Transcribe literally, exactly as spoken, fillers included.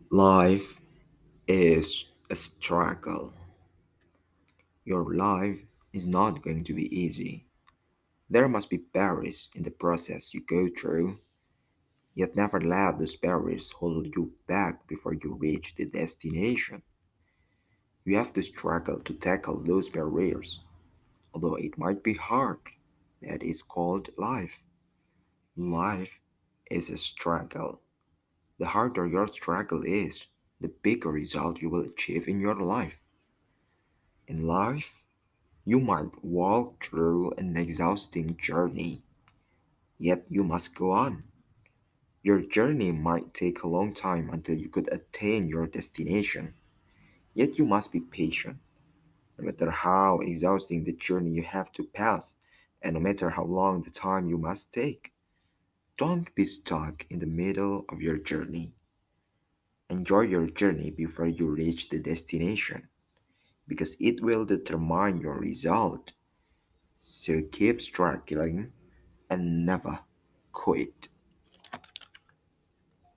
Life is a struggle. Your life is not going to be easy. There must be barriers in the process you go through, yet never let those barriers hold you back before you reach the destination. You have to struggle to tackle those barriers, although it might be hard. That is called life. Life is a struggle. The harder your struggle is, the bigger result you will achieve in your life. In life, you might walk through an exhausting journey, yet you must go on. Your journey might take a long time until you could attain your destination, yet you must be patient. No matter how exhausting the journey you have to pass, and no matter how long the time you must take, don't be stuck in the middle of your journey. Enjoy your journey before you reach the destination, because it will determine your result. So keep struggling and never quit.